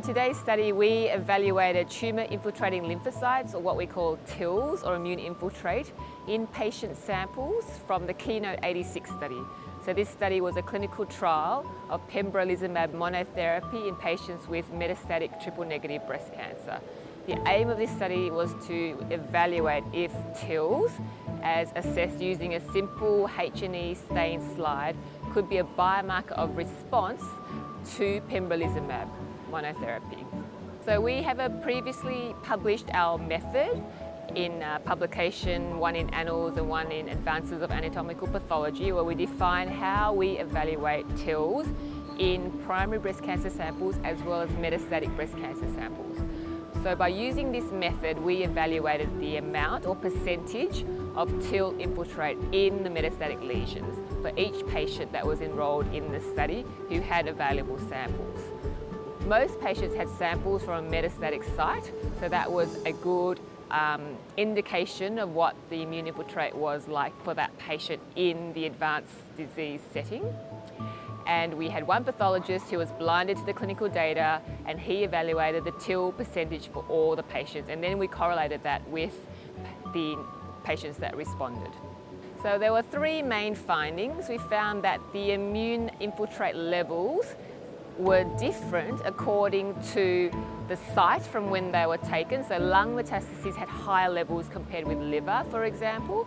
in today's study, we evaluated tumour-infiltrating lymphocytes, or what we call TILs, or immune infiltrate, in patient samples from the KEYNOTE-86 study. So this study was a clinical trial of pembrolizumab monotherapy in patients with metastatic triple-negative breast cancer. The aim of this study was to evaluate if TILs, as assessed using a simple H&E stain slide, could be a biomarker of response to pembrolizumab monotherapy. So we have previously published our method in publication, one in Annals and one in Advances of Anatomical Pathology, where we define how we evaluate TILs in primary breast cancer samples as well as metastatic breast cancer samples. So by using this method, we evaluated the amount or percentage of TIL infiltrate in the metastatic lesions for each patient that was enrolled in the study who had available samples. Most patients had samples from a metastatic site, so that was a good indication of what the immune infiltrate was like for that patient in the advanced disease setting. And we had one pathologist who was blinded to the clinical data, and he evaluated the TIL percentage for all the patients, and then we correlated that with the patients that responded. So there were three main findings. We found that the immune infiltrate levels were different according to the site from when they were taken. So lung metastases had higher levels compared with liver, for example.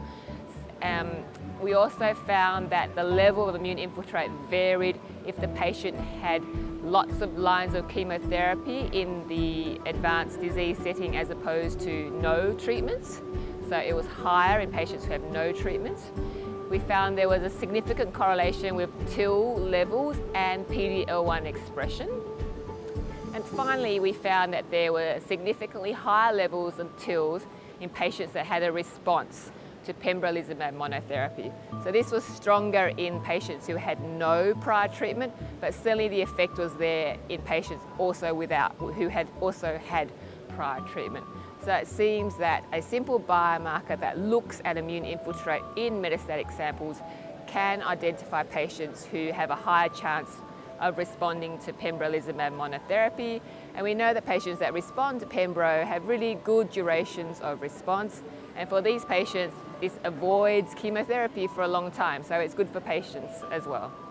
We also found that the level of immune infiltrate varied if the patient had lots of lines of chemotherapy in the advanced disease setting as opposed to no treatments. So it was higher in patients who have no treatments. We found there was a significant correlation with TIL levels and PD-L1 expression. And finally, we found that there were significantly higher levels of TILs in patients that had a response to pembrolizumab monotherapy. So this was stronger in patients who had no prior treatment, but certainly the effect was there in patients who had also had prior treatment. So it seems that a simple biomarker that looks at immune infiltrate in metastatic samples can identify patients who have a higher chance of responding to pembrolizumab monotherapy. And we know that patients that respond to pembro have really good durations of response. And for these patients, this avoids chemotherapy for a long time, so it's good for patients as well.